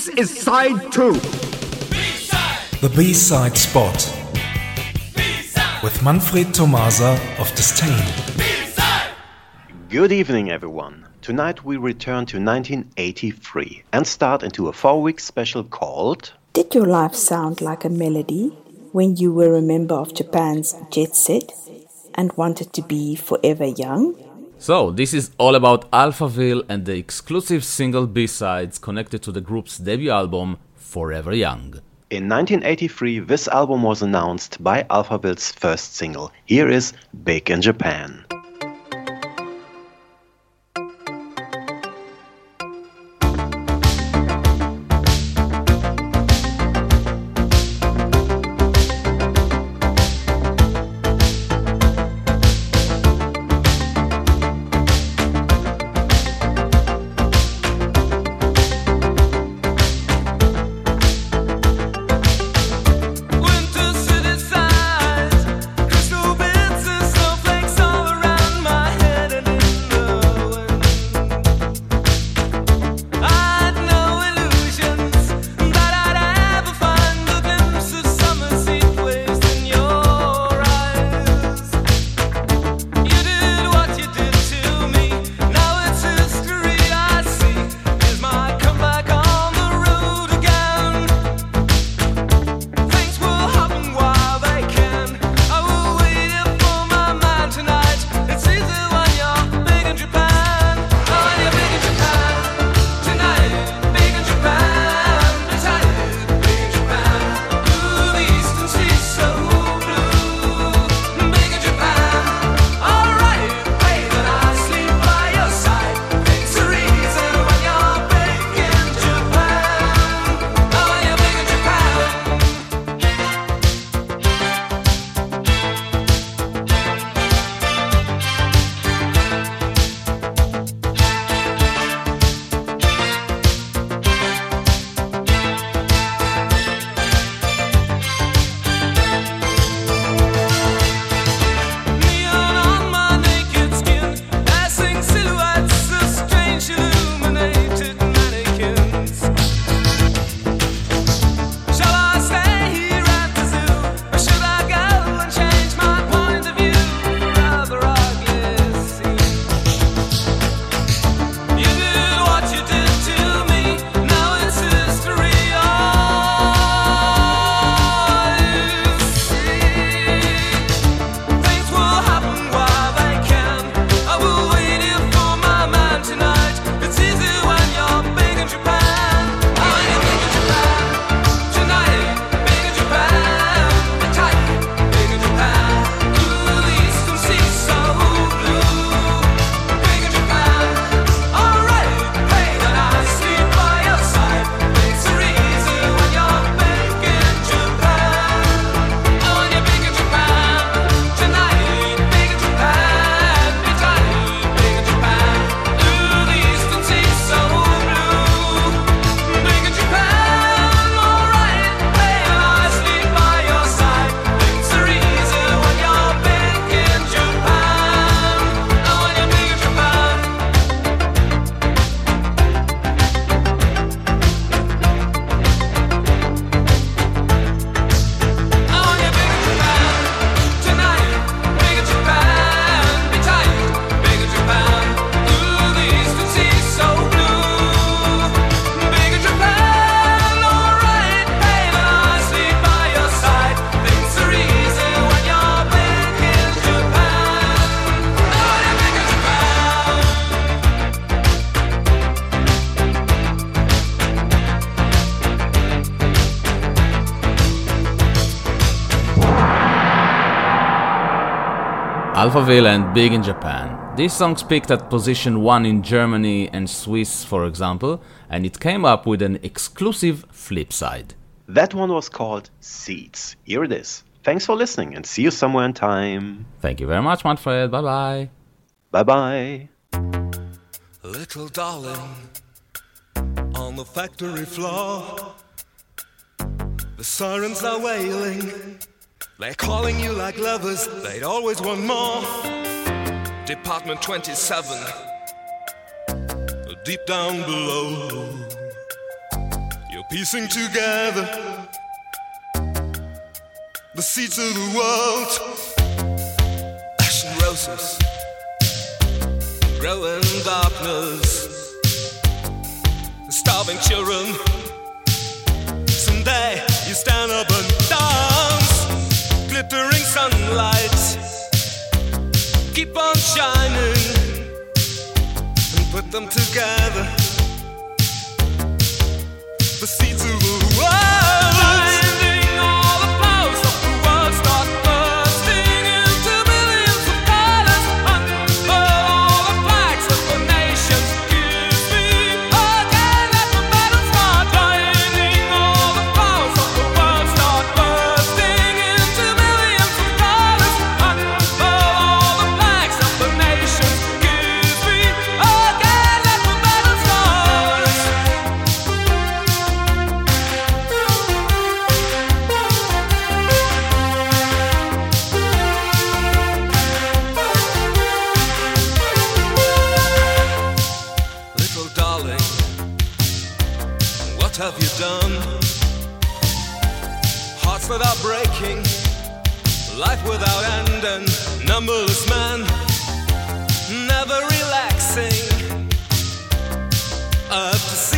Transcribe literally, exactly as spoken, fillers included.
This is side two. B-side. The B-side spot. B-side. With Manfred Tomasa of Disdain. B-side. Good evening, everyone. Tonight we return to nineteen eighty-three and start into a four-week special called Did Your Life Sound Like a Melody When You Were a Member of Japan's Jet Set and Wanted to Be Forever Young? So, this is all about Alphaville and the exclusive single B-sides connected to the group's debut album, Forever Young. In nineteen eighty-three, this album was announced by Alphaville's first single. Here is Big in Japan. Alphaville and Big in Japan. These songs peaked at position one in Germany and Swiss, for example, and it came up with an exclusive flip side. That one was called Seeds. Here it is. Thanks for listening and see you somewhere in time. Thank you very much, Manfred. Bye-bye. Bye-bye. Little darling, on the factory floor, the sirens are wailing. They're calling you like lovers, they'd always want more. Department twenty-seven, deep down below, You're piecing together the seeds of the world. Ash and roses grow in darkness. Starving children. Someday you stand up and dance. Glittering sunlight, keep on shining, and put them together. The seeds of the world, finding all the flowers of the world start bursting into millions of colors. Unfurl all the flags of the nations. Kiss me again, let the battle start. Finding all the flowers of the world start bursting into millions of colors. Unfurl all the flags of the nations. Kiss me again, let the battle start. Little darling, what have you done? Hearts that are breaking, life without end, and numberless men, never relaxing. Up to